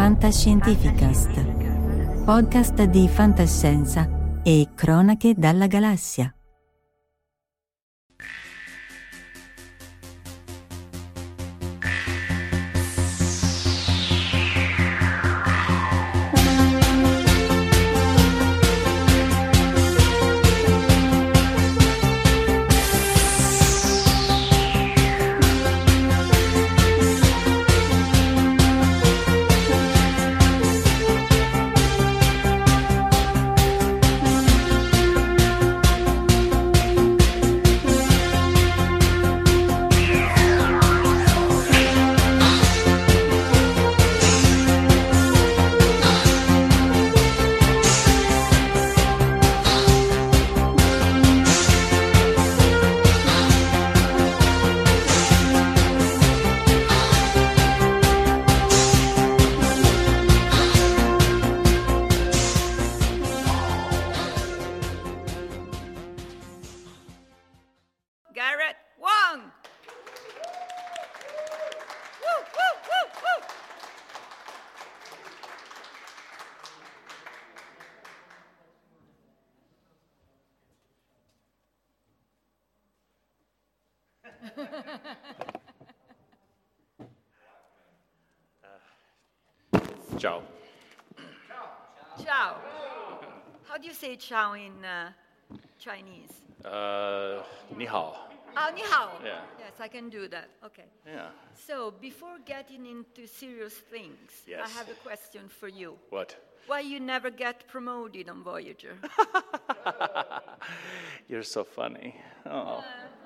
Fantascientificast, podcast di fantascienza e cronache dalla galassia. Garrett Wang. Woo, woo, woo, woo. Ciao. Ciao. How do you say ciao in Chinese? Ni hao. Oh, ni hao. Yeah. Yes, I can do that. Okay. Yeah. So, before getting into serious things, I Yes. have a question for you. What? Why you never get promoted on Voyager? You're so funny. Oh.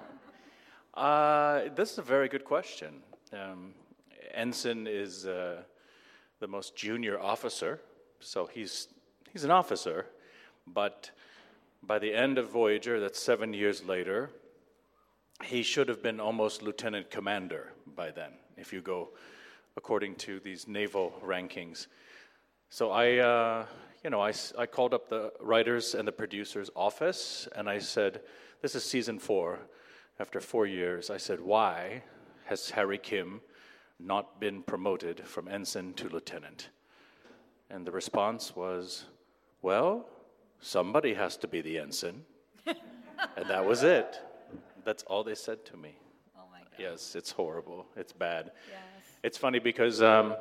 This is a very good question. Ensign is the most junior officer, so he's an officer, but by the end of Voyager, that's 7 years later, he should have been almost lieutenant commander by then, if you go according to these naval rankings. So I called up the writers and the producers' office, and I said, this is season 4. After 4 years, I said, why has Harry Kim not been promoted from ensign to lieutenant? And the response was, well, somebody has to be the ensign. And that was it. That's all they said to me. Oh my God. Yes, it's horrible. It's bad. Yes. It's funny because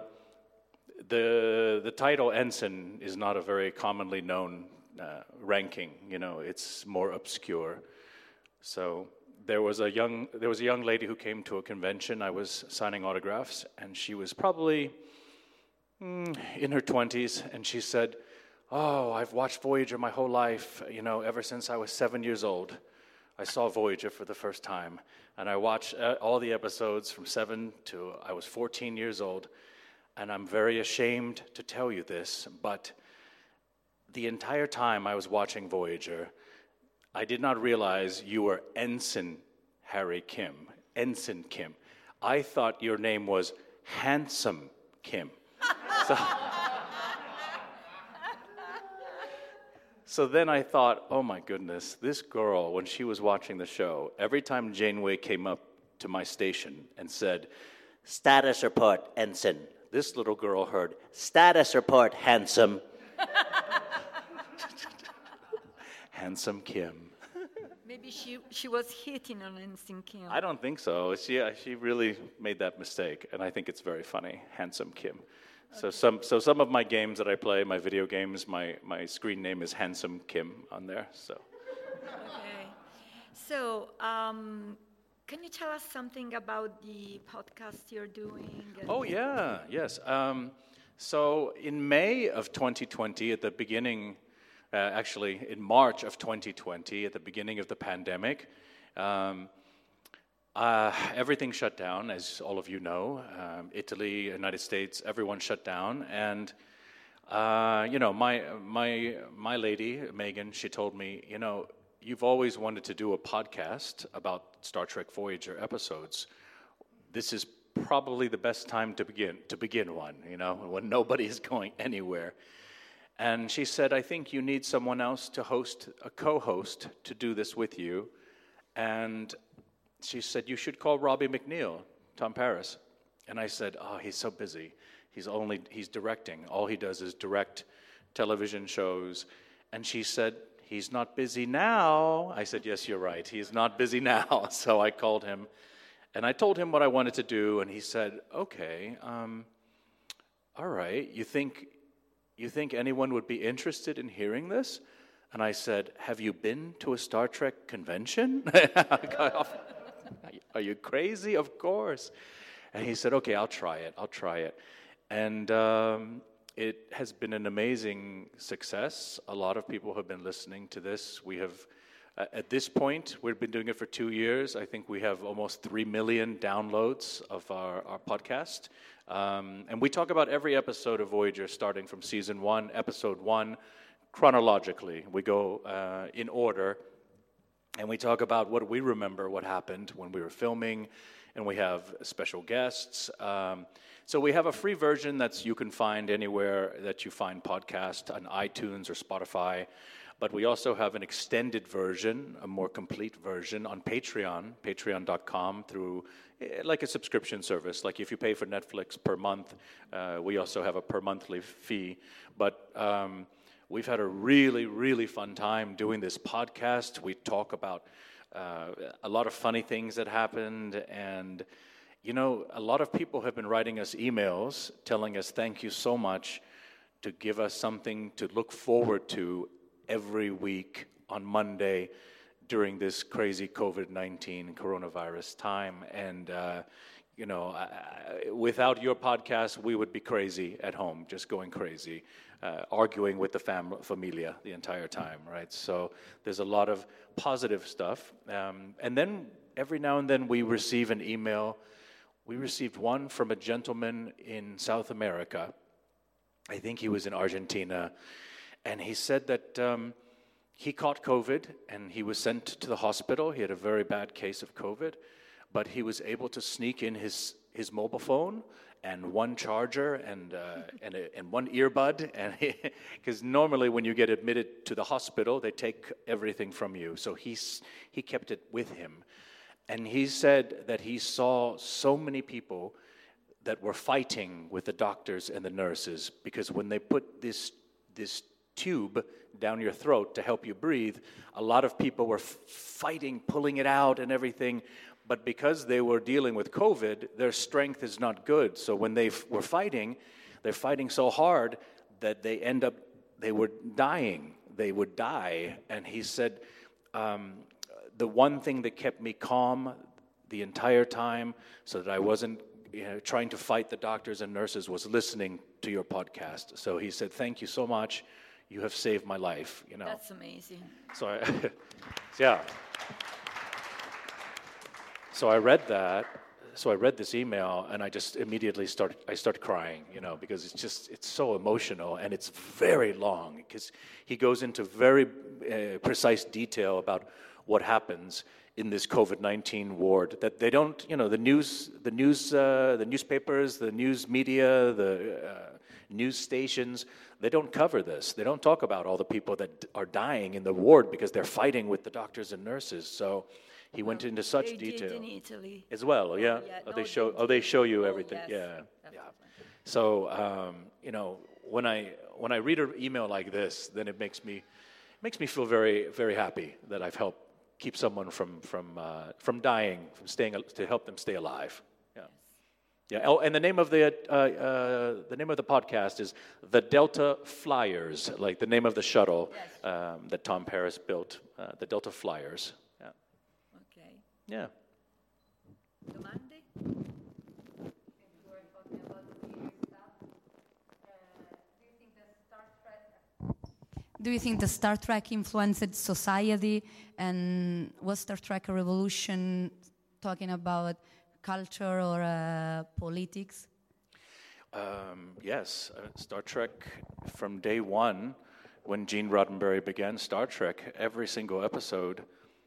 the title ensign is not a very commonly known ranking. You know, it's more obscure. So there was a young lady who came to a convention. I was signing autographs, and she was probably in her 20s, and she said, "Oh, I've watched Voyager my whole life. You know, ever since I was 7 years old, I saw Voyager for the first time, and I watched all the episodes from 7 to I was 14 years old, and I'm very ashamed to tell you this, but the entire time I was watching Voyager, I did not realize you were Ensign Harry Kim, Ensign Kim. I thought your name was Handsome Kim." So then I thought, oh my goodness, this girl, when she was watching the show, every time Janeway came up to my station and said, "Status report, Ensign," this little girl heard, "Status report, Handsome." Handsome Kim. Maybe she was hitting on Ensign Kim. I don't think so. She really made that mistake, and I think it's very funny, Handsome Kim. Okay. So some of my games that I play, my video games, my screen name is Handsome Kim on there. So. Okay. So, can you tell us something about the podcast you're doing? Oh yeah, yes. So in May of 2020, at the beginning. Actually, in March of 2020, at the beginning of the pandemic, everything shut down, as all of you know. Italy, United States, everyone shut down, and my lady Megan, she told me, you've always wanted to do a podcast about Star Trek Voyager episodes. This is probably the best time to begin one. When nobody is going anywhere. And she said, I think you need someone else to host, a co-host, to do this with you. And she said, you should call Robbie McNeil, Tom Paris. And I said, oh, he's so busy. He's directing. All he does is direct television shows. And she said, he's not busy now. I said, yes, you're right. He's not busy now. So I called him, and I told him what I wanted to do, and he said, okay, all right. You think anyone would be interested in hearing this? And I said, have you been to a Star Trek convention? Are you crazy? Of course. And he said, okay, I'll try it. And it has been an amazing success. A lot of people have been listening to this. We have, at this point, we've been doing it for 2 years. I think we have almost 3 million downloads of our podcast. And we talk about every episode of Voyager, starting from season 1, episode 1, chronologically. We go in order, and we talk about what we remember, what happened when we were filming, and we have special guests. So we have a free version that you can find anywhere that you find podcasts, on iTunes or Spotify. But we also have an extended version, a more complete version on Patreon, patreon.com, through like a subscription service. Like if you pay for Netflix per month, we also have a per monthly fee. But we've had a really, really fun time doing this podcast. We talk about a lot of funny things that happened, and you know, a lot of people have been writing us emails telling us thank you so much, to give us something to look forward to every week on Monday during this crazy COVID-19 coronavirus time. And you know, without your podcast, we would be crazy at home, just going crazy, arguing with the familia the entire time, right? So there's a lot of positive stuff. And then every now and then we receive an email. We received one from a gentleman in South America. I think he was in Argentina. And he said that he caught COVID and he was sent to the hospital. He had a very bad case of COVID. But he was able to sneak in his mobile phone and one charger and one earbud, and because normally when you get admitted to the hospital, they take everything from you. So he kept it with him, and he said that he saw so many people that were fighting with the doctors and the nurses, because when they put this tube down your throat to help you breathe, a lot of people were fighting, pulling it out and everything. But because they were dealing with COVID, their strength is not good. So when they were fighting, they're fighting so hard that they were dying. They would die. And he said, the one thing that kept me calm the entire time so that I wasn't trying to fight the doctors and nurses was listening to your podcast. So he said, thank you so much. You have saved my life. You know. That's amazing. So yeah. So I read that. So I read this email, and I just immediately started crying, because it's so emotional, and it's very long, because he goes into very precise detail about what happens in this COVID-19 ward that they don't, the newspapers, the news media, the news stations, they don't cover this. They don't talk about all the people that are dying in the ward because they're fighting with the doctors and nurses. So he went into such detail. Did in Italy as well. Yeah. They show you everything. Yes. Yeah. So when I read an email like this, then it makes me feel very, very happy that I've helped keep someone from dying, to help them stay alive. Yeah. Yeah. Oh, and the name of the podcast is The Delta Flyers, like the name of the shuttle that Tom Paris built. The Delta Flyers. Yeah. Okay. Yeah. Domande? Do you think the Star Trek influenced society, and was Star Trek a revolution talking about culture or politics? Yes, Star Trek from day one, when Gene Roddenberry began Star Trek, every single episode,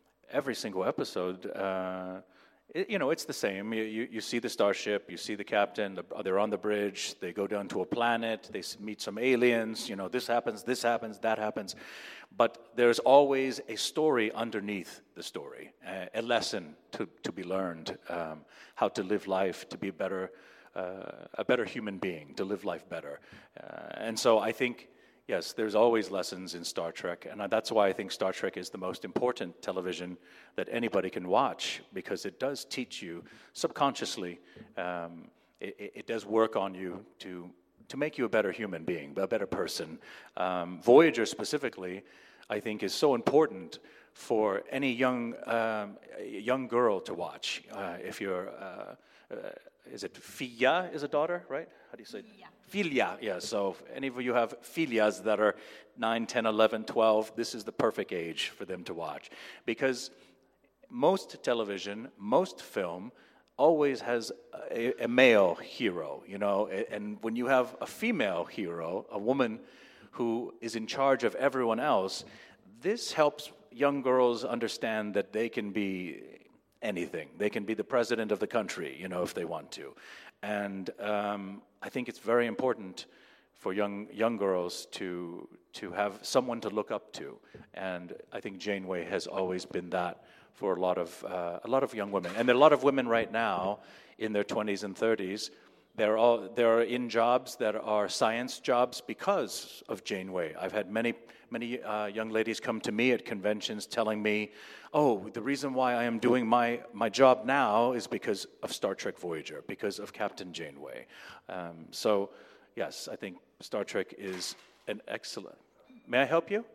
it's the same. You see the starship, you see the captain, they're on the bridge, they go down to a planet, they meet some aliens, this happens, that happens. But there's always a story underneath the story, a lesson to be learned, how to live life, to be a better a better human being, to live life better. And so I think, yes, there's always lessons in Star Trek, and that's why I think Star Trek is the most important television that anybody can watch, because it does teach you subconsciously. It does work on you to make you a better human being, a better person. Voyager specifically, I think, is so important for any young girl to watch. If you're, is it Filha is a daughter, right? How do you say it? Filha, yeah. So if any of you have Filhas that are 9, 10, 11, 12, this is the perfect age for them to watch. Because most television, most film, always has a male hero, you know, and when you have a female hero, a woman who is in charge of everyone else, this helps young girls understand that they can be anything. They can be the president of the country, you know, if they want to. And I think it's very important for young girls to have someone to look up to. And I think Janeway has always been that for a lot of young women. And there are a lot of women right now in their 20s and 30s. They're in jobs that are science jobs because of Janeway. I've had many young ladies come to me at conventions telling me, oh, the reason why I am doing my job now is because of Star Trek Voyager, because of Captain Janeway. So, yes, I think Star Trek is an excellent... May I help you?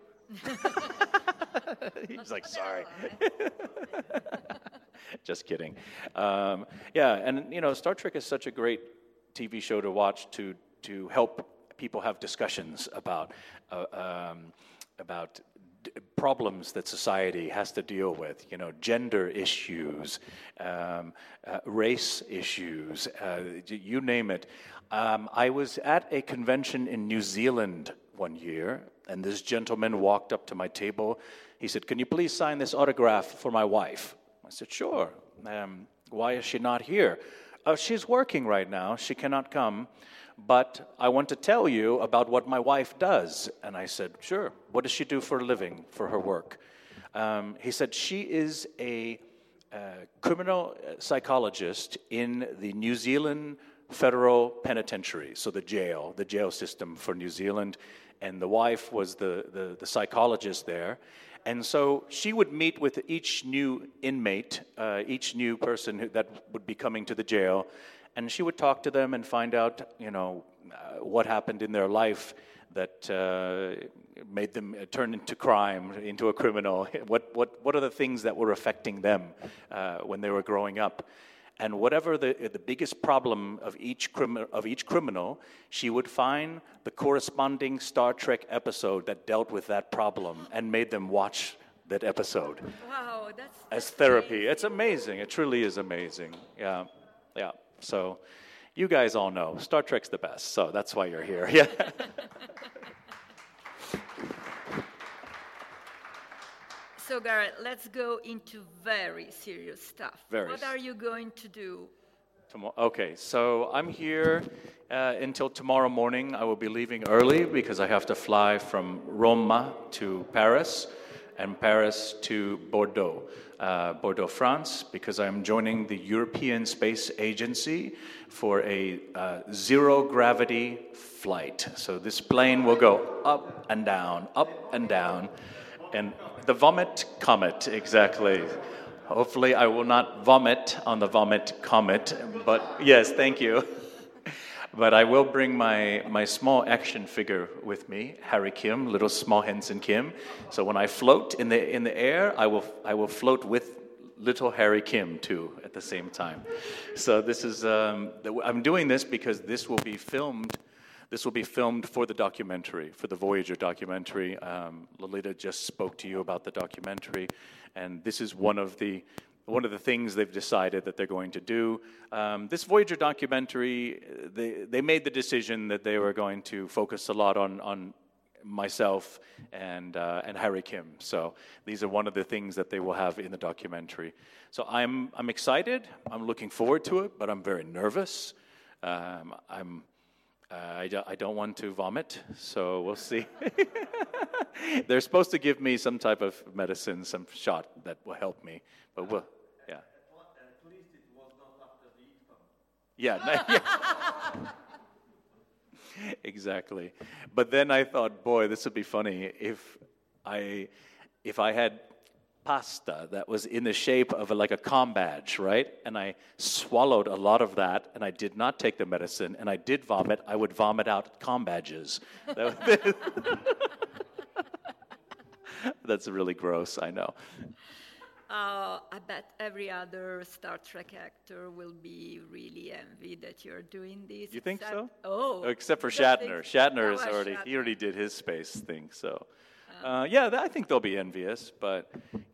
He's like, sorry. Just kidding. Yeah, and, you know, Star Trek is such a great TV show to watch to help people have discussions about problems that society has to deal with, you know, gender issues, race issues, you name it. I was at a convention in New Zealand one year, and this gentleman walked up to my table. He said, "Can you please sign this autograph for my wife?" I said, "Sure." "Why is she not here?" "She's working right now. She cannot come. But I want to tell you about what my wife does." And I said, "Sure. What does she do for a living, for her work?" He said, "She is a criminal psychologist in the New Zealand Federal Penitentiary, so the jail system for New Zealand. And the wife was the psychologist there. And so she would meet with each new inmate, each new person that would be coming to the jail, and she would talk to them and find out, you know, what happened in their life that made them turn into crime, into a criminal. What are the things that were affecting them when they were growing up? And whatever the biggest problem of each criminal, she would find the corresponding Star Trek episode that dealt with that problem and made them watch that episode. Wow, as therapy. Amazing. It's amazing. It truly is amazing. Yeah. So, you guys all know Star Trek's the best. So that's why you're here. Yeah. So, Garrett, let's go into very serious stuff. What are you going to do? Okay, so I'm here until tomorrow morning. I will be leaving early because I have to fly from Roma to Paris and Paris to Bordeaux, France, because I'm joining the European Space Agency for a zero-gravity flight. So this plane will go up and down, and the Vomit Comet, exactly. Hopefully I will not vomit on the Vomit Comet, but yes, thank you. But I will bring my small action figure with me, Harry Kim, little small Henson Kim. So when I float in the air, I will float with little Harry Kim too at the same time. So this is I'm doing this because this will be filmed. This will be filmed for the documentary, for the Voyager documentary. Lolita just spoke to you about the documentary, and this is one of the things they've decided that they're going to do. This Voyager documentary, they made the decision that they were going to focus a lot on myself and Harry Kim. So these are one of the things that they will have in the documentary. So I'm excited. I'm looking forward to it, but I'm very nervous. I don't want to vomit, so we'll see. They're supposed to give me some type of medicine, some shot that will help me, but we'll, yeah. At least it was not after the heat pump. Yeah. Yeah. Exactly. But then I thought, boy, this would be funny if I had pasta that was in the shape of like a com badge, right? And I swallowed a lot of that, and I did not take the medicine, and I did vomit. I would vomit out com badges. That's really gross, I know. I bet every other Star Trek actor will be really envied that you're doing this. You think so? Oh. Except for you don't Shatner. think- Shatner is Oh, already, Shatner. he already did his space thing, so. I think they'll be envious, but,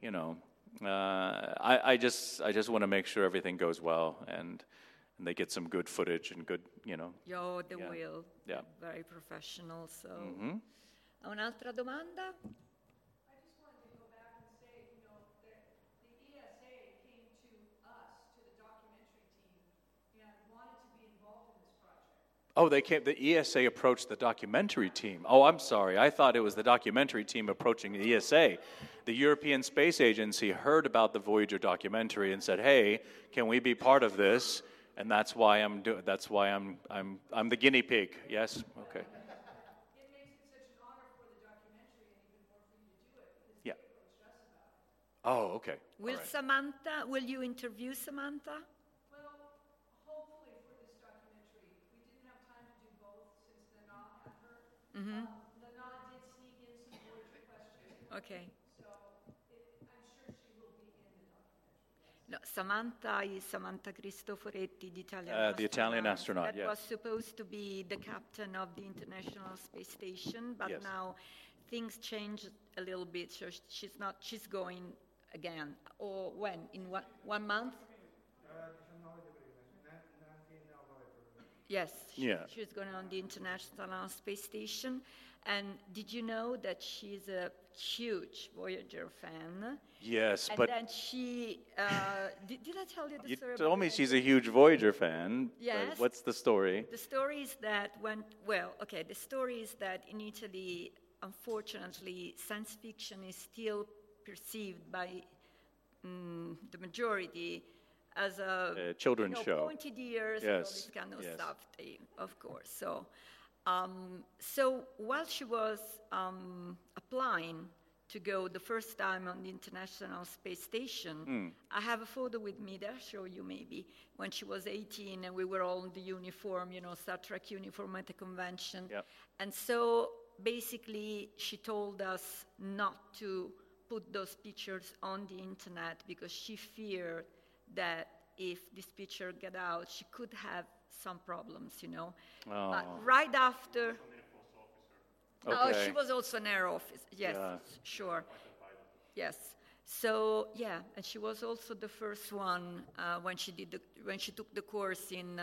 I just want to make sure everything goes well and they get some good footage and good, Yo, they Yeah. will. Yeah. Very professional, so. Mhm. Ha un'altra domanda? I just wanted to go back and say, the ESA came to us, to the documentary team, and wanted to be involved in this project. Oh, the ESA approached the documentary team. Oh, I'm sorry. I thought it was the documentary team approaching the ESA. The European Space Agency heard about the Voyager documentary and said, "Hey, can we be part of this?" And that's why I'm the guinea pig. Yes? Okay. It makes it such an honor for the documentary and even more for you to do it, because Yeah. they approached us about it. Oh, okay. Will you interview Samantha? Well, hopefully for this documentary. We didn't have time to do both since Nana had her. Nana did sneak in some Voyager questions, Okay. so I'm sure she will be in the documentary. No, Samantha is Samantha Cristoforetti, the Italian The Italian astronaut, that yes. was supposed to be the captain of the International Space Station, but Yes. now things changed a little bit. So she's going again. Or when? In 1 month? Yes. Yeah. She's going on the International Space Station. And did you know that she's a huge Voyager fan? Yes, And but then she, did I tell you the you story? about told me that? she's a huge Voyager fan. but Yes. What's the story? The story is that the story is that in Italy, unfortunately, science fiction is still perceived by the majority as a children's show. pointed ears and all Yes, this kind of yes. stuff, of course. So while she was applying to go the first time on the International Space Station, I have a photo with me that I'll show you maybe, when she was 18 and we were all in the uniform, Star Trek uniform at the convention. Yep. And so basically she told us not to put those pictures on the internet because she feared that if this picture got out, she could have some problems, Oh. But right after... Oh, Okay. she was also an air officer. Yes, Yeah. sure. Yes. So yeah, and she was also the first one when she took the course in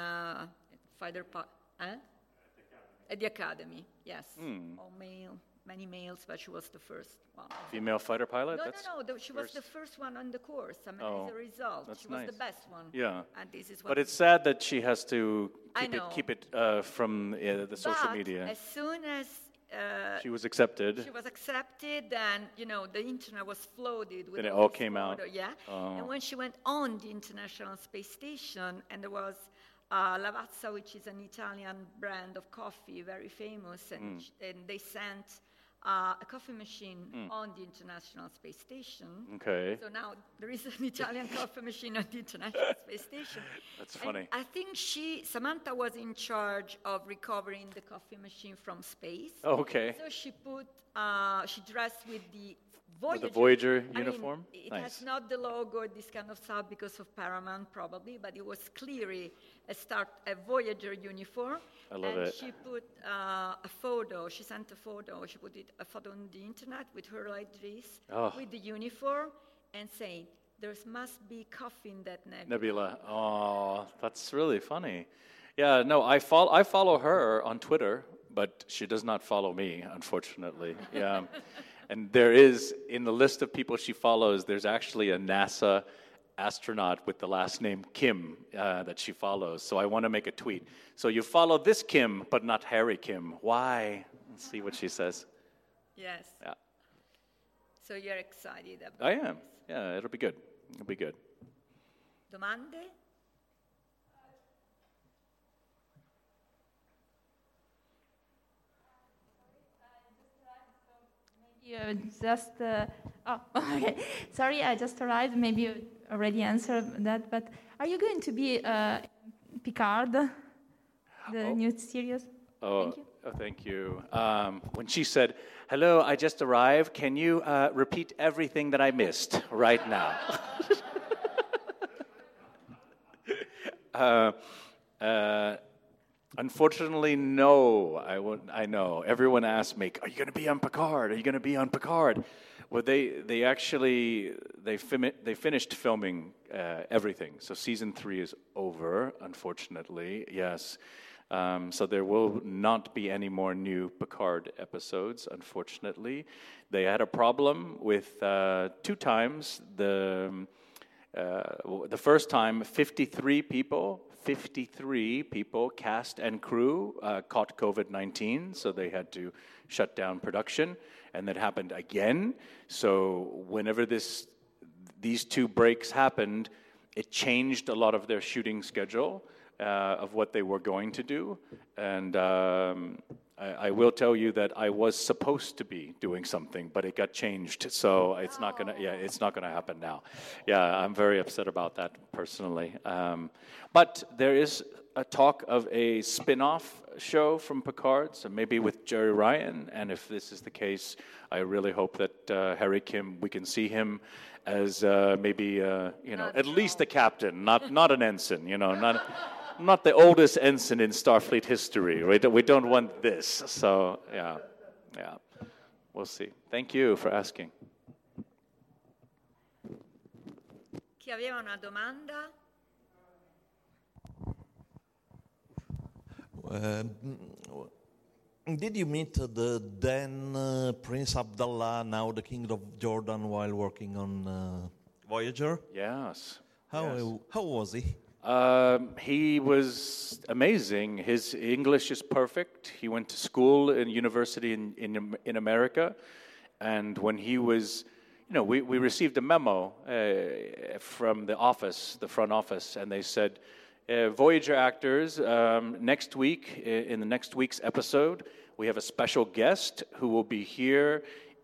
at the academy. Yes, all male, many males, but she was the first one. Female fighter pilot? She was the first one on the course. I mean, Oh, as a result, that's she was nice. the best one. Yeah. And this is what. But it's sad that she has to I know. keep it from the social But media. as soon as She was accepted. she was accepted, and the internet was flooded with Then it all all this came out. photo, yeah. Oh. And when she went on the International Space Station, and there was Lavazza, which is an Italian brand of coffee, very famous, and, and they sent a coffee machine on the International Space Station. Okay. So now there is an Italian coffee machine on the International Space Station. That's And funny. I think Samantha was in charge of recovering the coffee machine from space. Oh, okay. So she dressed with the Voyager. Voyager I mean, uniform? it Nice. has not the logo or this kind of stuff because of Paramount probably, but it was clearly a Voyager uniform. I love and it. she put a photo, she sent a photo, she put a photo on the internet with her like this, Oh. with the uniform, and saying, there must be coffee in that nebula. Nebula. Oh, that's really funny. Yeah, no, I follow her on Twitter, but she does not follow me, unfortunately. Yeah. And there is, in the list of people she follows, there's actually a NASA astronaut with the last name Kim that she follows. So I want to make a tweet. So you follow this Kim, but not Harry Kim. Why? Let's see what she says. Yes. Yeah. So you're excited about I am. this. Yeah, it'll be good. It'll be good. Domande? Okay. Sorry, I just arrived. Maybe you already answered that, but are you going to be Picard, the new series? Thank you. Oh, thank you. When she said, "Hello, I just arrived. Can you repeat everything that I missed right now?" Unfortunately, no. I know. Everyone asks me, "Are you going to be on Picard? Are you going to be on Picard?" Well, they finished filming everything. So season 3 is over. Unfortunately, yes. So there will not be any more new Picard episodes. Unfortunately, they had a problem with 2 times. The first time, 53 people, cast and crew, caught COVID-19, so they had to shut down production, and that happened again. So whenever these 2 breaks happened, it changed a lot of their shooting schedule of what they were going to do, and I will tell you that I was supposed to be doing something, but it got changed, so it's not gonna happen now. Yeah, I'm very upset about that personally. But there is a talk of a spin-off show from Picard, so maybe with Jerry Ryan, and if this is the case, I really hope that Harry Kim, we can see him as maybe at least a captain, not an ensign, not the oldest ensign in Starfleet history. We don't want this. So yeah, we'll see. Thank you for asking. Chi aveva una domanda? Did you meet the then Prince Abdullah, now the King of Jordan, while working on Voyager? Yes. How was he? He was amazing. His English is perfect. He went to school and university in America, and when he was, we received a memo from the office, the front office, and they said, Voyager actors, next week, in the next week's episode, we have a special guest who will be here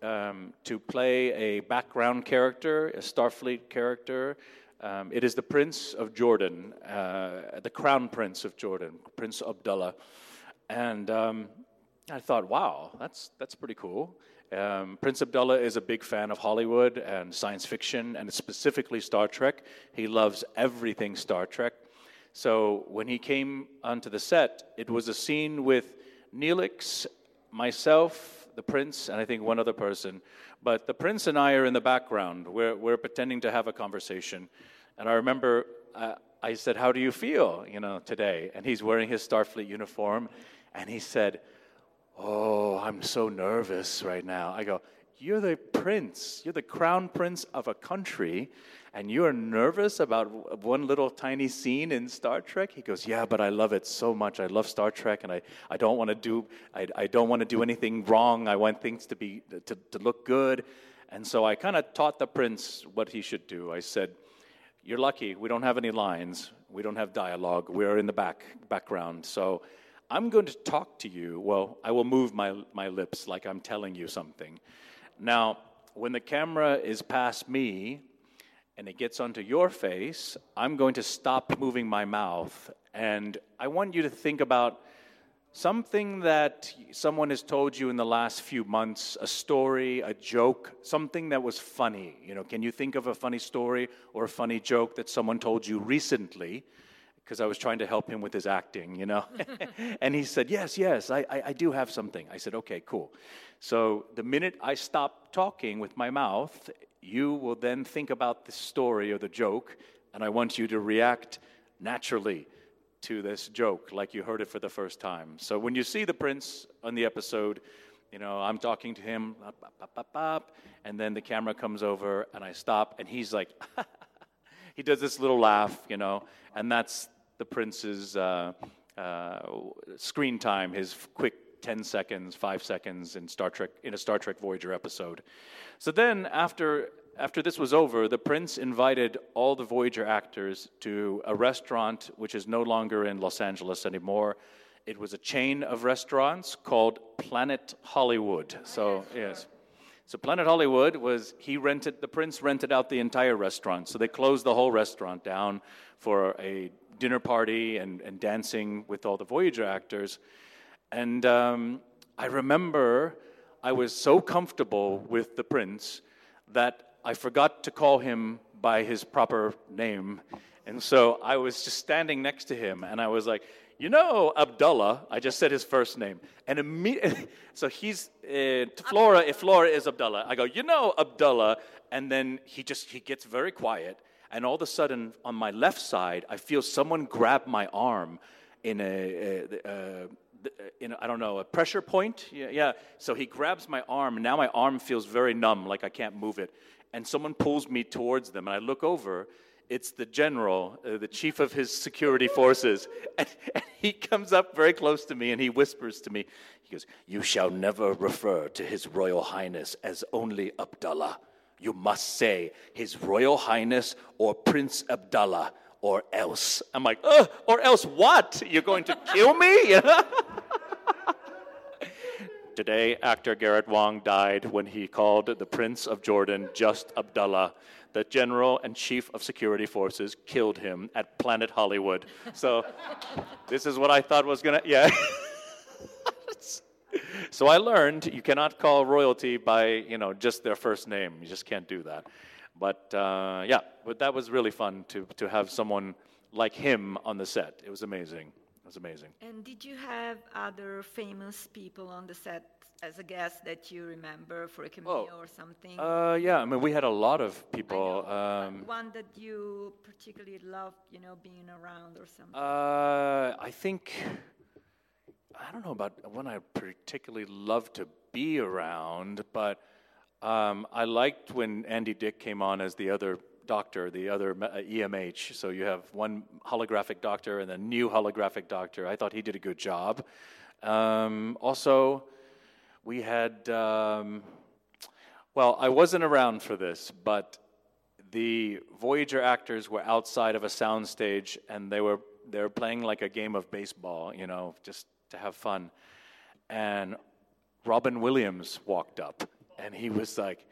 to play a background character, a Starfleet character. It is the Prince of Jordan, the Crown Prince of Jordan, Prince Abdullah. And I thought, wow, that's pretty cool. Prince Abdullah is a big fan of Hollywood and science fiction, and specifically Star Trek. He loves everything Star Trek. So when he came onto the set, it was a scene with Neelix, myself, the Prince, and I think one other person. But the Prince and I are in the background. We're pretending to have a conversation. And I remember I said, "How do you feel, today?" And he's wearing his Starfleet uniform. And he said, "Oh, I'm so nervous right now." I go, "You're the prince. You're the crown prince of a country, and you're nervous about one little tiny scene in Star Trek?" He goes, "Yeah, but I love it so much. I love Star Trek, and I don't want to do anything wrong. I want things to look good." And so I kind of taught the prince what he should do. I said, "You're lucky. We don't have any lines. We don't have dialogue. We're in the background. So I'm going to talk to you. Well, I will move my lips like I'm telling you something. Now, when the camera is past me and it gets onto your face, I'm going to stop moving my mouth. And I want you to think about something that someone has told you in the last few months, a story, a joke, something that was funny. Can you think of a funny story or a funny joke that someone told you recently? Because I was trying to help him with his acting, And he said, yes, I do have something. I said, okay, cool. So the minute I stop talking with my mouth, you will then think about the story or the joke, and I want you to react naturally to this joke like you heard it for the first time. So when you see the prince on the episode, I'm talking to him, and then the camera comes over, and I stop, and he's like, he does this little laugh, and that's the prince's screen time, his quick 10 seconds, 5 seconds in a Star Trek Voyager episode. So then after this was over, the prince invited all the Voyager actors to a restaurant which is no longer in Los Angeles anymore. It was a chain of restaurants called Planet Hollywood. So yes. So Planet Hollywood the prince rented out the entire restaurant. So they closed the whole restaurant down for a dinner party and dancing with all the Voyager actors. And I remember I was so comfortable with the prince that I forgot to call him by his proper name. And so I was just standing next to him, and I was like, you know, Abdullah. I just said his first name. And immediately, so he's, Flora, if Flora is Abdullah, I go, you know, Abdullah. And then he gets very quiet. And all of a sudden, on my left side, I feel someone grab my arm in I don't know, a pressure point. Yeah. So he grabs my arm, and now my arm feels very numb, like I can't move it. And someone pulls me towards them, and I look over. It's the general, the chief of his security forces. And he comes up very close to me, and he whispers to me, he goes, you shall never refer to His Royal Highness as only Abdullah. You must say His Royal Highness or Prince Abdullah or else. I'm like, or else what? You're going to kill me? Today, actor Garrett Wang died when he called the Prince of Jordan just Abdullah. The General and Chief of Security Forces killed him at Planet Hollywood. So this is what I thought was going to, yeah. So I learned you cannot call royalty by, just their first name. You just can't do that. But but that was really fun to have someone like him on the set. It was amazing. And did you have other famous people on the set as a guest that you remember for a cameo or something? Yeah, I mean, we had a lot of people. One that you particularly loved, being around or something? I think, I don't know about one I particularly loved to be around, but I liked when Andy Dick came on as the other doctor, the other EMH. So you have one holographic doctor and a new holographic doctor. I thought he did a good job. Also, we had, I wasn't around for this, but the Voyager actors were outside of a soundstage, and they were playing like a game of baseball, just to have fun. And Robin Williams walked up, and he was like,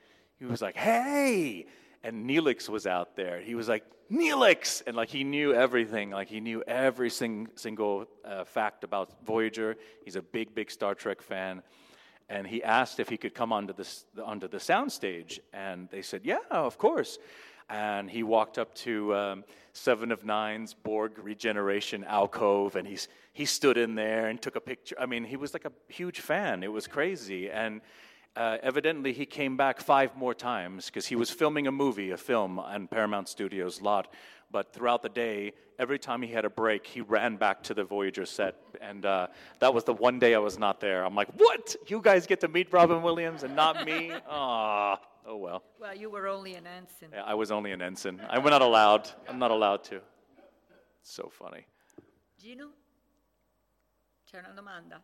hey! And Neelix was out there. He was like, Neelix! And he knew everything. He knew every single fact about Voyager. He's a big Star Trek fan. And he asked if he could come onto the soundstage. And they said, yeah, of course. And he walked up to Seven of Nine's Borg regeneration alcove, and he stood in there and took a picture. I mean, he was like a huge fan. It was crazy. And evidently, he came back 5 more times because he was filming a film on Paramount Studios lot. But throughout the day, every time he had a break, he ran back to the Voyager set. And that was the one day I was not there. I'm like, what? You guys get to meet Robin Williams and not me? Oh well. Well, you were only an ensign. Yeah, I was only an ensign. I'm not allowed. I'm not allowed to. It's so funny. Gino? C'è una domanda?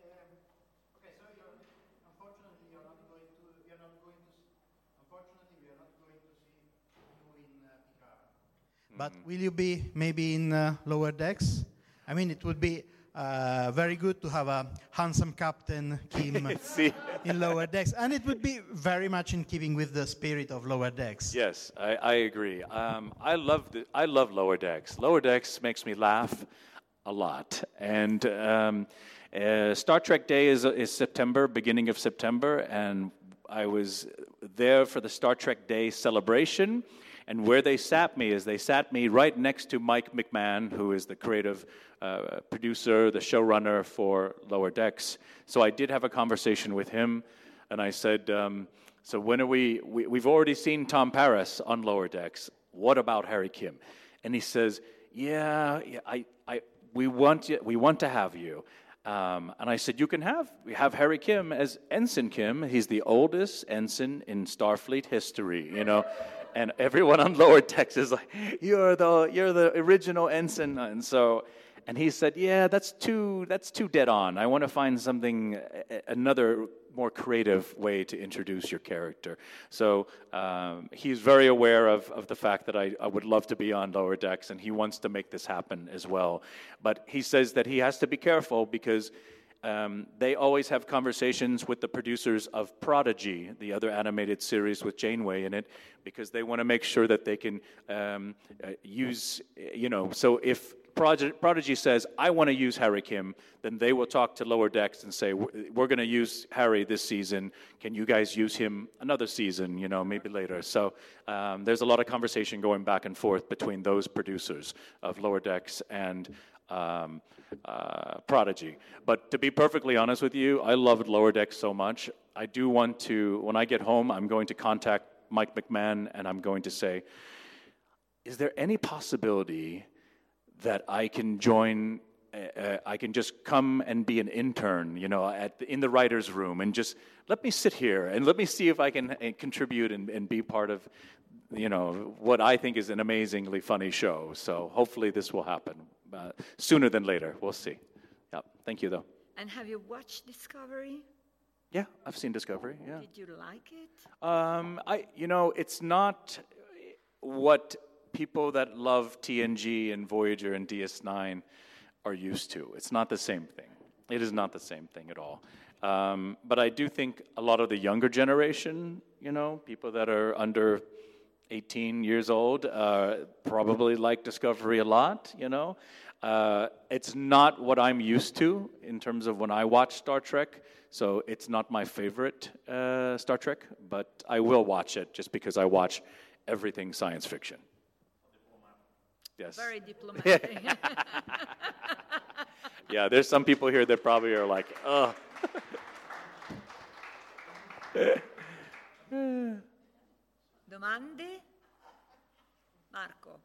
But will you be maybe in Lower Decks? I mean, it would be very good to have a handsome Captain Kim in Lower Decks. And it would be very much in keeping with the spirit of Lower Decks. Yes, I agree. I love Lower Decks. Lower Decks makes me laugh a lot. And Star Trek Day is September, beginning of September. And I was there for the Star Trek Day celebration. And where they sat me right next to Mike McMahon, who is the creative producer, the showrunner for Lower Decks. So I did have a conversation with him, and I said, so when are we've already seen Tom Paris on Lower Decks. What about Harry Kim? And he says, yeah, we want to have you. And I said, we have Harry Kim as Ensign Kim. He's the oldest ensign in Starfleet history, And everyone on Lower Decks is like, you're the original ensign, and he said, yeah, that's too dead on. I want to find another more creative way to introduce your character. So he's very aware of the fact that I would love to be on Lower Decks, and he wants to make this happen as well. But he says that he has to be careful because they always have conversations with the producers of Prodigy, the other animated series with Janeway in it, because they want to make sure that they can use, so if Prodigy says, I want to use Harry Kim, then they will talk to Lower Decks and say, we're going to use Harry this season. Can you guys use him another season, maybe later? So there's a lot of conversation going back and forth between those producers of Lower Decks and Prodigy. But to be perfectly honest with you, I loved Lower Decks so much. I do want to, when I get home, I'm going to contact Mike McMahon and I'm going to say, is there any possibility that I can join, I can just come and be an intern, in the writer's room, and just let me sit here and let me see if I can contribute and be part of, what I think is an amazingly funny show. So hopefully this will happen sooner than later. We'll see. Yeah. Thank you, though. And have you watched Discovery? Yeah, I've seen Discovery. Yeah. Did you like it? It's not what people that love TNG and Voyager and DS9 are used to. It's not the same thing. It is not the same thing at all. But I do think a lot of the younger generation, people that are under 18 years old, probably like Discovery a lot, It's not what I'm used to in terms of when I watch Star Trek, so it's not my favorite Star Trek, but I will watch it just because I watch everything science fiction. Yes. Very diplomatic. Yeah, there's some people here that probably are like, ugh. Domande? Marco.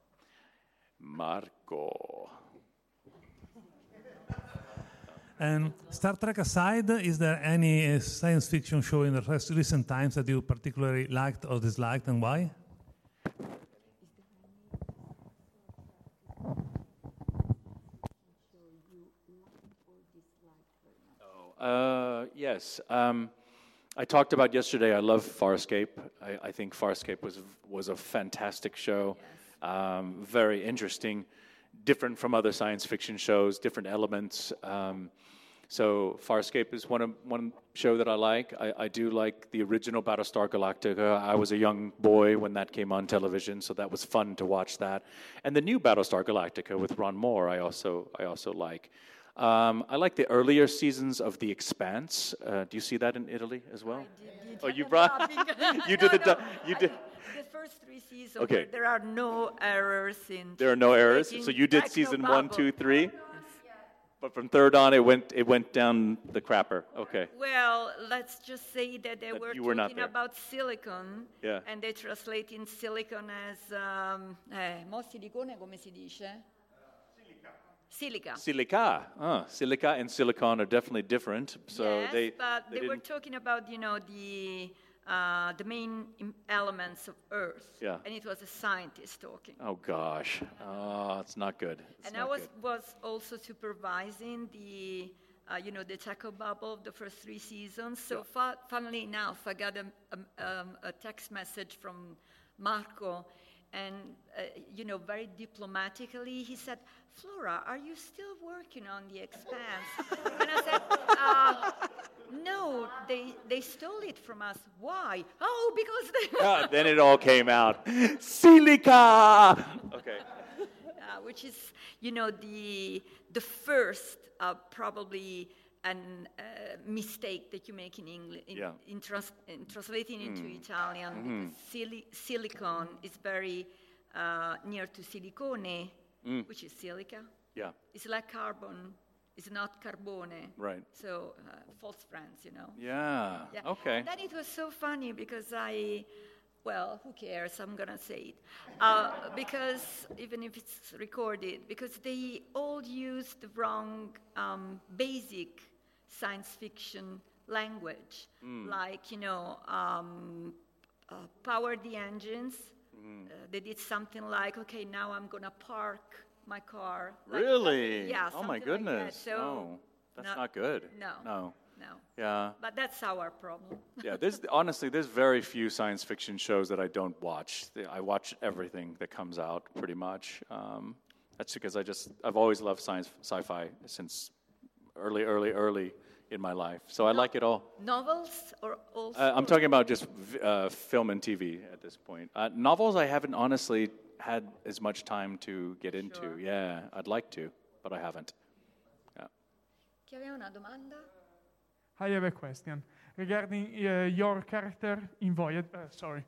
And Star Trek aside, is there any science fiction show in the recent times that you particularly liked or disliked, and why? Yes. I talked about yesterday, I love Farscape. I think Farscape was a fantastic show. Yes. Very interesting, different from other science fiction shows, different elements. So Farscape is one show that I like. I do like the original Battlestar Galactica. I was a young boy when that came on television, so that was fun to watch that. And the new Battlestar Galactica with Ron Moore, I also like. I like the earlier seasons of The Expanse. Do you see that in Italy as well? I did. Oh, you brought. You did You did. The first 3 seasons. Okay. There are no errors in. There are no errors. So you did season 1, 2, 3. Yes. But from third on, it went down the crapper. Okay. Well, let's just say that they were talking about silicon. Yeah. And they translate in silicon as mo silicone come si dice? Silica. Silica and silicon are definitely different. So yes, but they were talking about, the main elements of Earth. Yeah. And it was a scientist talking. Oh, gosh. It's not good. I was also supervising the Taco Bubble of the first 3 seasons. So funnily enough, I got a text message from Marco. And, very diplomatically, he said, Flora, are you still working on The Expanse? And I said, no, they stole it from us. Why? Oh, because they... Then it all came out. Silica! Okay. Which is, the first, probably, mistake that you make in English, in translating into Italian. Because silicon is very near to silicone, which is silica. Yeah. It's like carbon. It's not carbone. Right. So false friends, Yeah. Okay. And then it was so funny because who cares? I'm going to say it. Because even if it's recorded, because they all use the wrong basic science fiction language. Like, power the engines. They did something like, okay, now I'm going to park my car. Really? Yeah. Oh, my goodness. Like that. So that's not good. No. Yeah. But that's our problem. Yeah, there's very few science fiction shows that I don't watch. I watch everything that comes out pretty much. That's because I've always loved sci-fi since early in my life. So I like it all. Novels or also? I'm talking about just film and TV at this point. Novels I haven't honestly had as much time to get into. Yeah, I'd like to, but I haven't. Yeah. Chi aveva una domanda? I have a question regarding your character in Voyager. Sorry.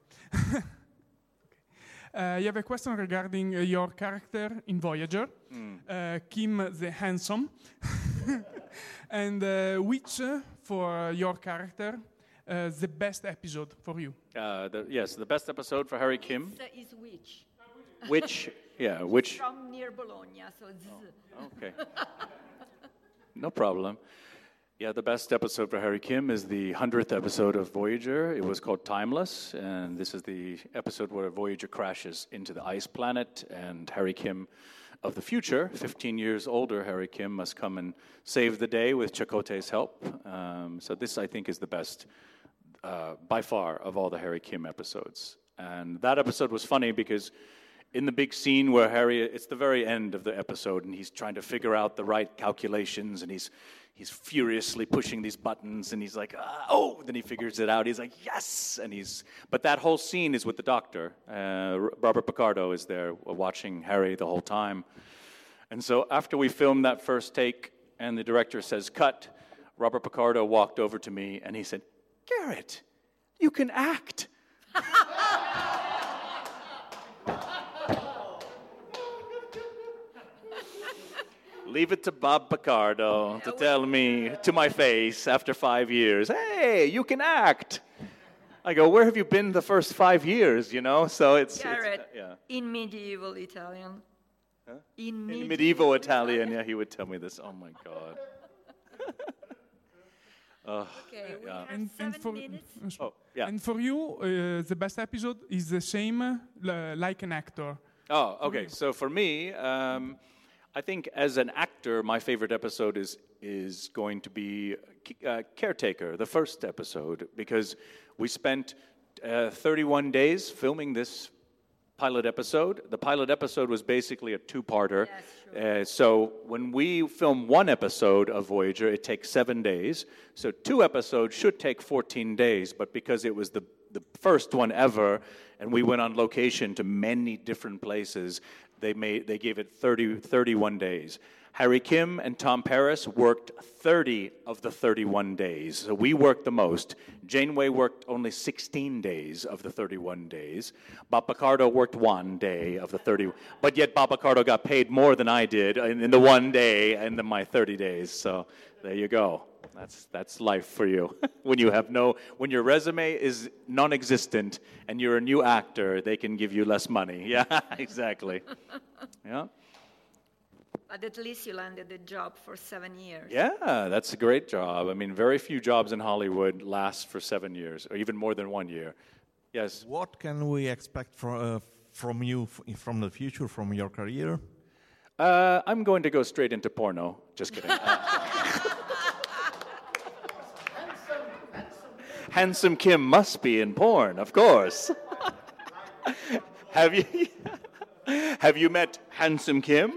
I have a question regarding your character in Voyager, Kim the Handsome, and which, for your character, the best episode for you? Yes, the best episode for Harry Kim. Is which? Which? Yeah, which? From near Bologna, so Z. Okay. No problem. Yeah, the best episode for Harry Kim is the 100th episode of Voyager. It was called Timeless, and this is the episode where Voyager crashes into the ice planet, and Harry Kim of the future, 15 years older Harry Kim, must come and save the day with Chakotay's help. So this, I think, is the best, by far, of all the Harry Kim episodes. And that episode was funny because in the big scene where Harry, it's the very end of the episode, and he's trying to figure out the right calculations, and he's furiously pushing these buttons, and he's like, oh, then he figures it out. He's like, yes, but that whole scene is with the doctor. Robert Picardo is there watching Harry the whole time. And so after we filmed that first take, and the director says, cut, Robert Picardo walked over to me, and he said, Garrett, you can act. Leave it to Bob Picardo to tell me to my face after 5 years, hey, you can act. I go, where have you been the first 5 years, you know? So it's Garrett, yeah. In medieval Italian. Huh? In medieval Italian, yeah, he would tell me this. Oh, my God. Okay, we yeah. have 7 minutes. Oh, yeah. And for you, the best episode is the same, like an actor. Oh, okay. So for me, I think as an actor, my favorite episode is going to be Caretaker, the first episode, because we spent 31 days filming this pilot episode. The pilot episode was basically a two-parter. Yes, sure. So when we film one episode of Voyager, it takes 7 days. So 2 episodes should take 14 days, but because it was the first one ever, and we went on location to many different places, they gave it 31 days. Harry Kim and Tom Paris worked 30 of the 31 days. So we worked the most. Janeway worked only 16 days of the 31 days. Bob Picardo worked 1 day of the 30. But yet Bob Picardo got paid more than I did in the 1 day and my 30 days. So there you go. That's life for you. When your resume is non-existent and you're a new actor, they can give you less money. Yeah, exactly. Yeah. But at least you landed the job for 7 years. Yeah, that's a great job. I mean, very few jobs in Hollywood last for 7 years, or even more than 1 year. Yes. What can we expect from you from the future, from your career? I'm going to go straight into porno. Just kidding. Handsome Kim must be in porn, of course. Have you met Handsome Kim?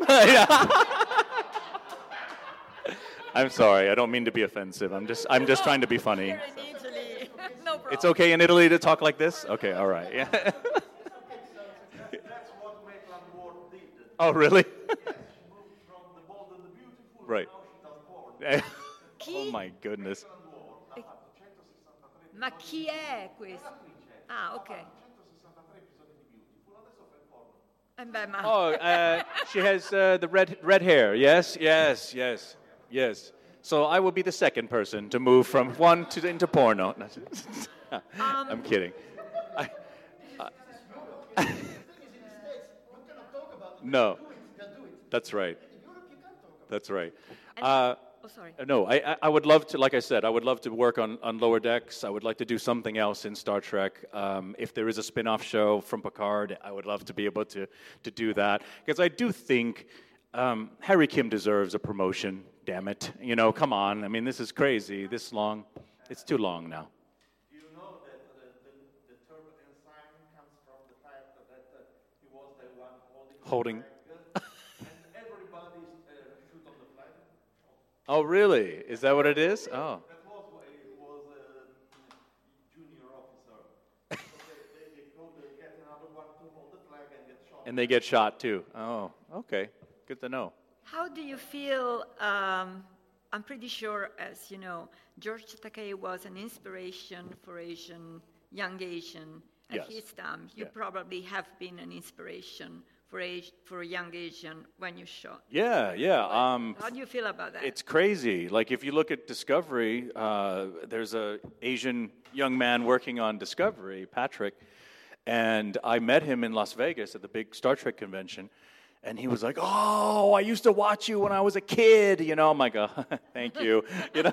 I'm sorry, I don't mean to be offensive. I'm just trying to be funny. Here in Italy, no problem. It's okay in Italy to talk like this? Okay, all right. Yeah. That's what Maitland Ward did. Oh, really? Yes, she moved from the bold and the beautiful, right. Now she does porn. Oh my goodness. Ma chi è questo? Ah, ok. She has the red hair. Yes. So I will be the second person to move from one into porno. I'm kidding. No, that's right. That's right. Sorry. No, I would love to, like I said, I would love to work on Lower Decks. I would like to do something else in Star Trek. If there is a spin-off show from Picard, I would love to be able to do that. Because I do think Harry Kim deserves a promotion, damn it. You know, come on. I mean, this is crazy. This long. It's too long now. Do you know that the term ensign comes from the fact that he was the one holding... Oh, really? Is that what it is? Oh. That was a junior officer. So they could get another one to hold the flag and get shot. And they get shot too. Oh, okay. Good to know. How do you feel? I'm pretty sure, as you know, George Takei was an inspiration for young Asian at his time. You probably have been an inspiration for a young Asian when you shot. Yeah. How do you feel about that? It's crazy. Like if you look at Discovery, there's a Asian young man working on Discovery, Patrick, and I met him in Las Vegas at the big Star Trek convention. And he was like, "Oh, I used to watch you when I was a kid." You know, I'm like, "Oh, thank you." You know,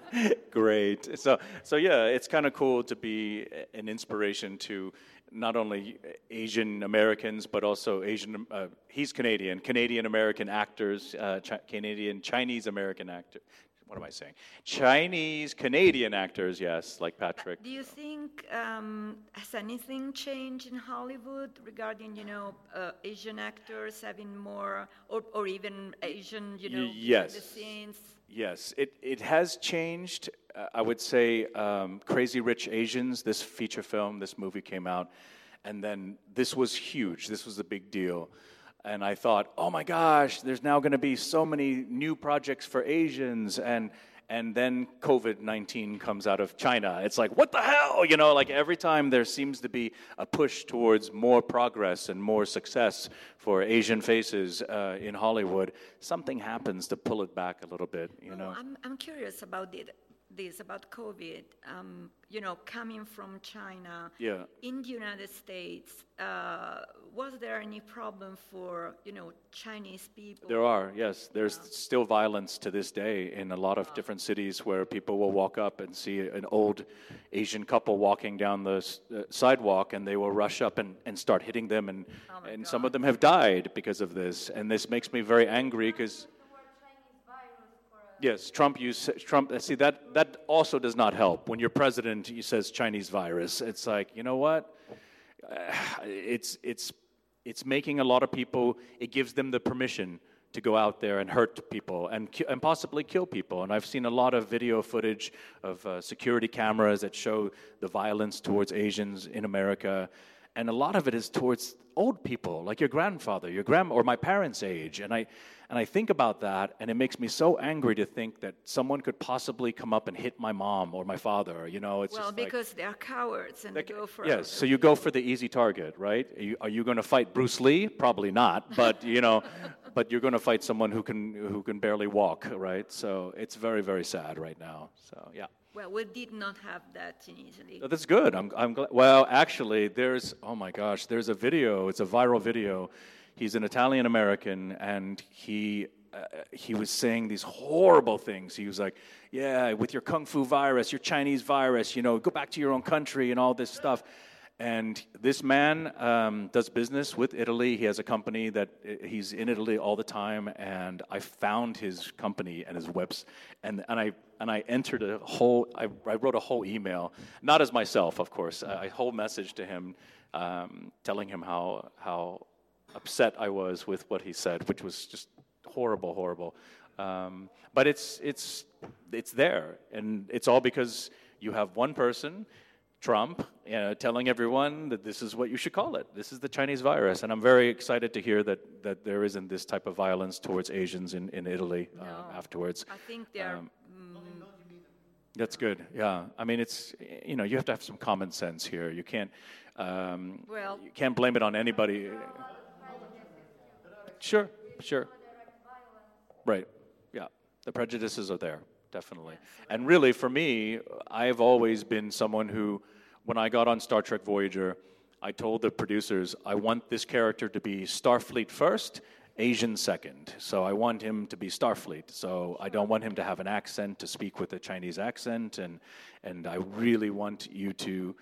great. So yeah, it's kind of cool to be an inspiration to not only Asian Americans but also Asian. He's Canadian American actors, Chinese American actors. What am I saying? Chinese Canadian actors, yes, like Patrick. Do you think has anything changed in Hollywood regarding Asian actors having more, or even Asian yes. the scenes? Yes, it has changed. I would say Crazy Rich Asians, this feature film, this movie came out, and then this was huge. This was a big deal. And I thought, oh my gosh, there's now going to be so many new projects for Asians, and then COVID-19 comes out of China. It's like, what the hell? You know, like every time there seems to be a push towards more progress and more success for Asian faces in Hollywood, something happens to pull it back a little bit, you know. I'm curious about this, about COVID, coming from China. In the United States, was there any problem for, Chinese people? There are, yes. There's still violence to this day in a lot of different cities where people will walk up and see an old Asian couple walking down the sidewalk, and they will rush up and start hitting them, and some of them have died because of this. And this makes me very angry because... Yes, Trump. See, that also does not help. When your president says Chinese virus, it's like, you know what? It's making a lot of people. It gives them the permission to go out there and hurt people and possibly kill people. And I've seen a lot of video footage of security cameras that show the violence towards Asians in America, and a lot of it is towards old people, like your grandfather, your grandma, or my parents' age. And I think about that, and it makes me so angry to think that someone could possibly come up and hit my mom or my father. You know, it's just because they're cowards and they go for yes. So you go for the easy target, right? Are you going to fight Bruce Lee? Probably not, but but you're going to fight someone who can barely walk, right? So it's very, very sad right now. So yeah. Well, we did not have that in Italy. Oh, that's good. I'm glad. Well, actually, there's a video. It's a viral video. He's an Italian American, and he was saying these horrible things. He was like, "Yeah, with your kung fu virus, your Chinese virus, go back to your own country and all this stuff." And this man does business with Italy. He has a company that he's in Italy all the time. And I found his company and his website, and I entered I wrote a whole email, not as myself, of course, a whole message to him, telling him how upset I was with what he said, which was just horrible. But it's there, and it's all because you have one person, Trump, telling everyone that this is what you should call it. This is the Chinese virus, and I'm very excited to hear that there isn't this type of violence towards Asians in Italy afterwards. I think they are. That's good. Yeah, I mean, it's you have to have some common sense here. You can't you can't blame it on anybody. Sure. Right. Yeah, the prejudices are there. Definitely. And really, for me, I've always been someone who, when I got on Star Trek Voyager, I told the producers, I want this character to be Starfleet first, Asian second. So I want him to be Starfleet. So I don't want him to have an accent, to speak with a Chinese accent, and I really want you to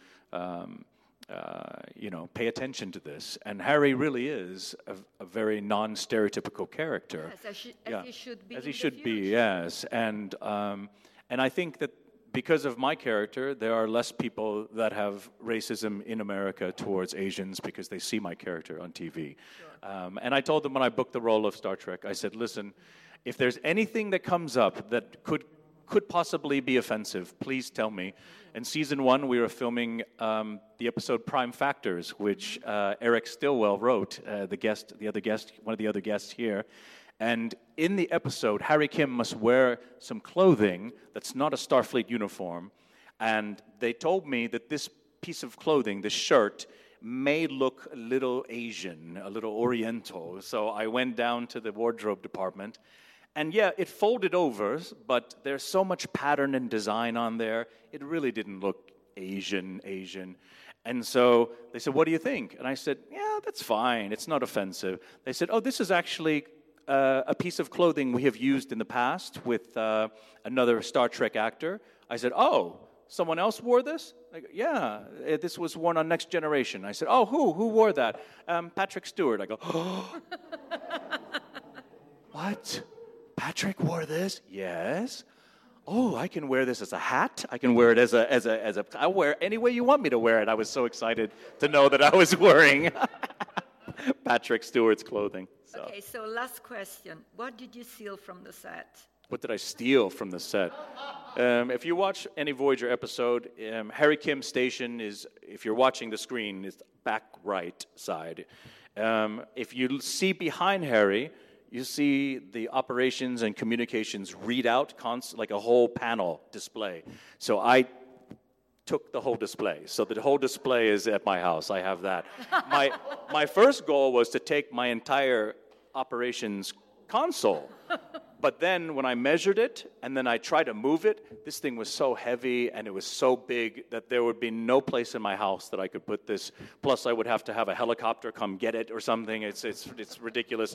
pay attention to this. And Harry really is a very non-stereotypical character. Yes, as he should be. As he should be, yes. And I think that because of my character, there are less people that have racism in America towards Asians because they see my character on TV. Sure. And I told them when I booked the role of Star Trek, I said, listen, If there's anything that comes up that could possibly be offensive, please tell me. In season 1, we were filming the episode Prime Factors, which Eric Stillwell wrote, one of the other guests here. And in the episode, Harry Kim must wear some clothing that's not a Starfleet uniform. And they told me that this piece of clothing, this shirt, may look a little Asian, a little Oriental. So I went down to the wardrobe department. And yeah, it folded over, but there's so much pattern and design on there, it really didn't look Asian. And so they said, what do you think? And I said, yeah, that's fine, it's not offensive. They said, oh, this is actually a piece of clothing we have used in the past with another Star Trek actor. I said, oh, someone else wore this? Like, yeah, this was worn on Next Generation. I said, oh, who wore that? Patrick Stewart. I go, oh. What? Patrick wore this? Yes. Oh, I can wear this as a hat. I can wear it as a. I'll wear it any way you want me to wear it. I was so excited to know that I was wearing Patrick Stewart's clothing. So. Okay, so last question. What did you steal from the set? What did I steal from the set? If you watch any Voyager episode, Harry Kim's station is, if you're watching the screen, is back right side. If you see behind Harry, you see the operations and communications readout, like a whole panel display. So I took the whole display. So the whole display is at my house. I have that. My first goal was to take my entire operations console. But then when I measured it and then I tried to move it, this thing was so heavy and it was so big that there would be no place in my house that I could put this. Plus I would have to have a helicopter come get it or something. It's ridiculous.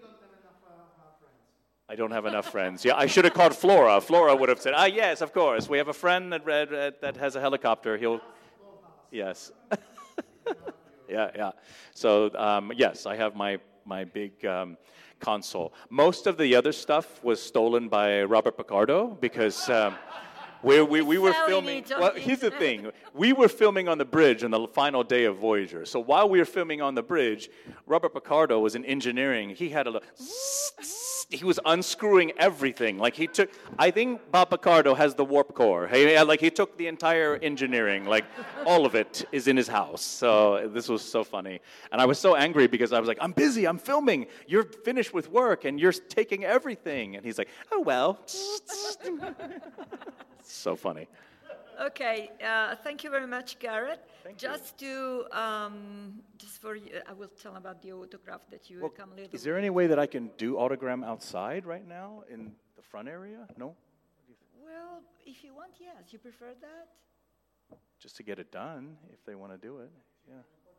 I don't have enough friends. Yeah, I should have called Flora. Flora would have said, yes, of course. We have a friend that has a helicopter. Yes. Yeah. So, yes, I have my big console. Most of the other stuff was stolen by Robert Picardo because we were filming. Well, here's the thing. We were filming on the bridge on the final day of Voyager. So while we were filming on the bridge, Robert Picardo was in engineering. He had he was unscrewing everything. Like I think Bob Picardo has the warp core. He took the entire engineering, like all of it is in his house. So this was so funny. And I was so angry because I was like, I'm busy, I'm filming. You're finished with work and you're taking everything. And he's like, oh, well. So funny. Okay, thank you very much, Garrett. Just for you, I will tell about the autograph that you will come later. Is there any way that I can do autogram outside right now in the front area? No? Well, if you want, yes. You prefer that? Just to get it done, if they want to do it, yeah.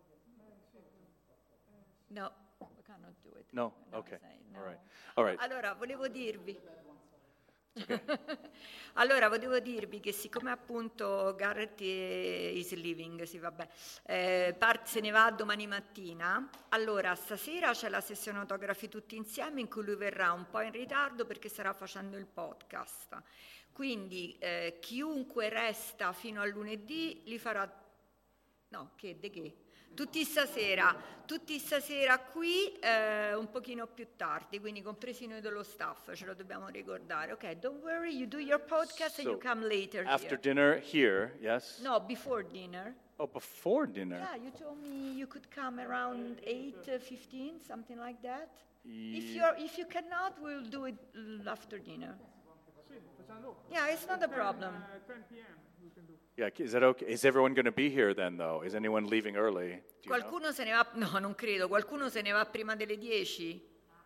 No, we cannot do it. No? Okay. No. All right. Allora, volevo dirvi... Okay. Allora, volevo dirvi che siccome appunto Garrett is leaving, sì, vabbè, se ne va domani mattina, allora stasera c'è la sessione autografi tutti insieme in cui lui verrà un po' in ritardo perché starà facendo il podcast. Quindi chiunque resta fino a lunedì li farà... No, che? Tutti stasera qui, un pochino più tardi, quindi compresi noi dello staff, ce lo dobbiamo ricordare. Ok, don't worry, you do your podcast and you come later after here. Dinner here, yes? No, before dinner. Oh, before dinner? Yeah, you told me you could come around 8:15, something like that. If you cannot, we'll do it after dinner. Yeah, it's not a problem. 10 p.m. we can do. Yeah, is that okay? Is everyone going to be here then, though? Is anyone leaving early? Qualcuno se ne va? No, non credo. Qualcuno se ne va prima delle 10?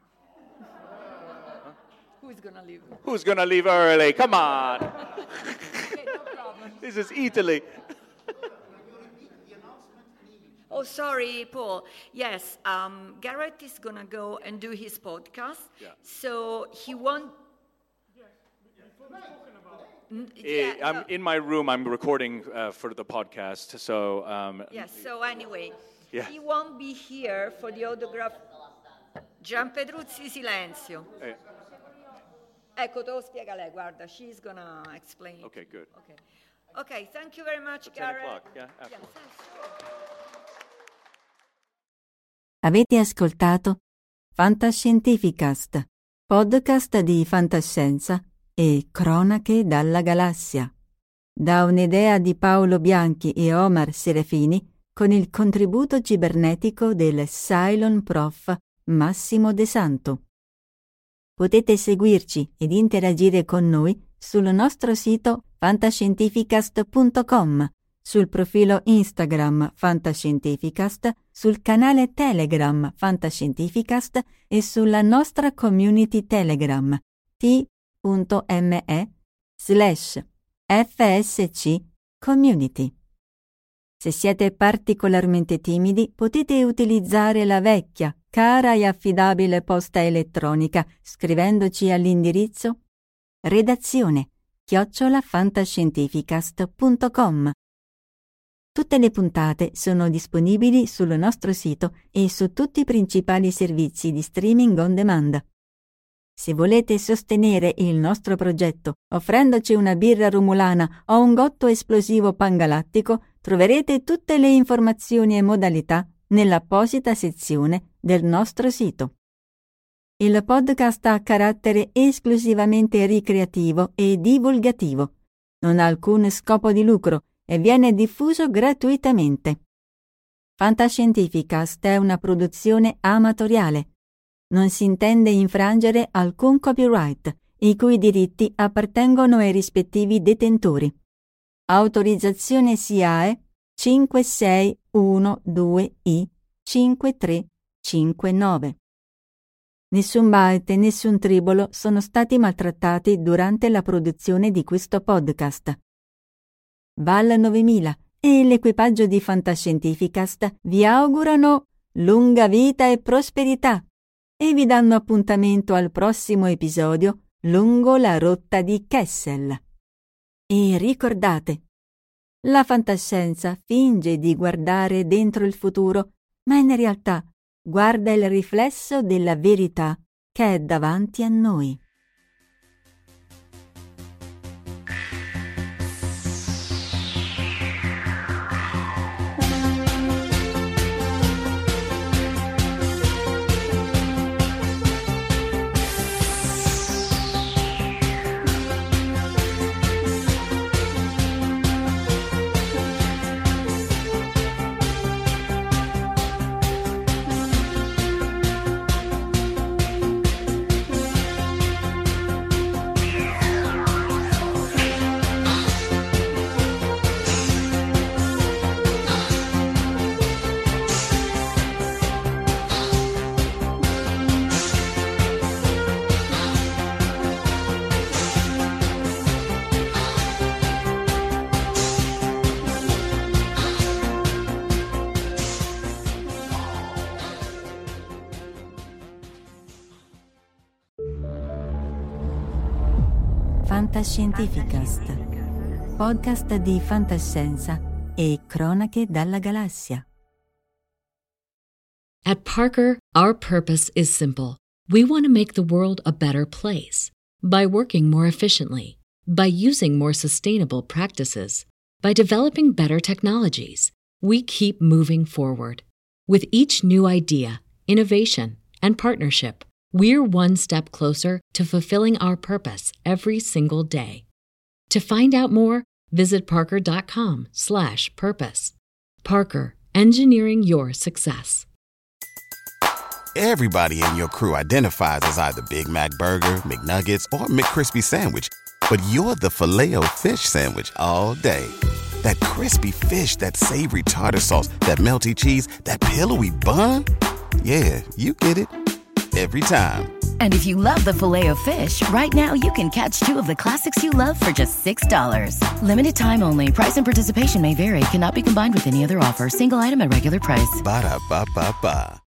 Who's going to leave? Who's going to leave early? Come on. Okay, no problem. This is Italy. Oh, sorry, Paul. Yes, Garrett is going to go and do his podcast. Yeah. So he won't... I'm in my room. I'm recording for the podcast. So yes. So anyway, yeah. He won't be here for the autograph. Gian Pedruzzi, silenzio. Ecco, te lo spiega lei. Guarda, she's gonna explain. Okay, good. Okay. Thank you very much, Garrett. 10 o'clock. Yeah. Avete ascoltato Fantascientificast, podcast di fantascienza e cronache dalla galassia. Da un'idea di Paolo Bianchi e Omar Serafini con il contributo cibernetico del Cylon Prof Massimo De Santo. Potete seguirci ed interagire con noi sul nostro sito fantascientificast.com, sul profilo Instagram Fantascientificast, sul canale Telegram Fantascientificast e sulla nostra community Telegram t.me/FSC Community. Se siete particolarmente timidi, potete utilizzare la vecchia, cara e affidabile posta elettronica scrivendoci all'indirizzo redazione@fantascientificast.com. Tutte le puntate sono disponibili sul nostro sito e su tutti i principali servizi di streaming on demand. Se volete sostenere il nostro progetto offrendoci una birra romulana o un gotto esplosivo pangalattico, troverete tutte le informazioni e modalità nell'apposita sezione del nostro sito. Il podcast ha carattere esclusivamente ricreativo e divulgativo. Non ha alcun scopo di lucro e viene diffuso gratuitamente. Fantascientificast è una produzione amatoriale. Non si intende infrangere alcun copyright, i cui diritti appartengono ai rispettivi detentori. Autorizzazione SIAE 5612I5359. Nessun byte e nessun tribolo sono stati maltrattati durante la produzione di questo podcast. Val 9000 e l'equipaggio di Fantascientificast vi augurano lunga vita e prosperità e vi danno appuntamento al prossimo episodio lungo la rotta di Kessel. E ricordate, la fantascienza finge di guardare dentro il futuro, ma in realtà guarda il riflesso della verità che è davanti a noi. Fantascientificast, podcast di fantascienza e cronache dalla galassia. At Parker, our purpose is simple. We want to make the world a better place by working more efficiently, by using more sustainable practices, by developing better technologies. We keep moving forward. With each new idea, innovation, and partnership, we're one step closer to fulfilling our purpose every single day. To find out more, visit parker.com/purpose. Parker, engineering your success. Everybody in your crew identifies as either Big Mac Burger, McNuggets, or McCrispy Sandwich. But you're the Filet-O-Fish Sandwich all day. That crispy fish, that savory tartar sauce, that melty cheese, that pillowy bun. Yeah, you get it. Every time. And if you love the Filet-O-Fish, right now you can catch two of the classics you love for just $6. Limited time only. Price and participation may vary. Cannot be combined with any other offer. Single item at regular price. Ba-da-ba-ba-ba.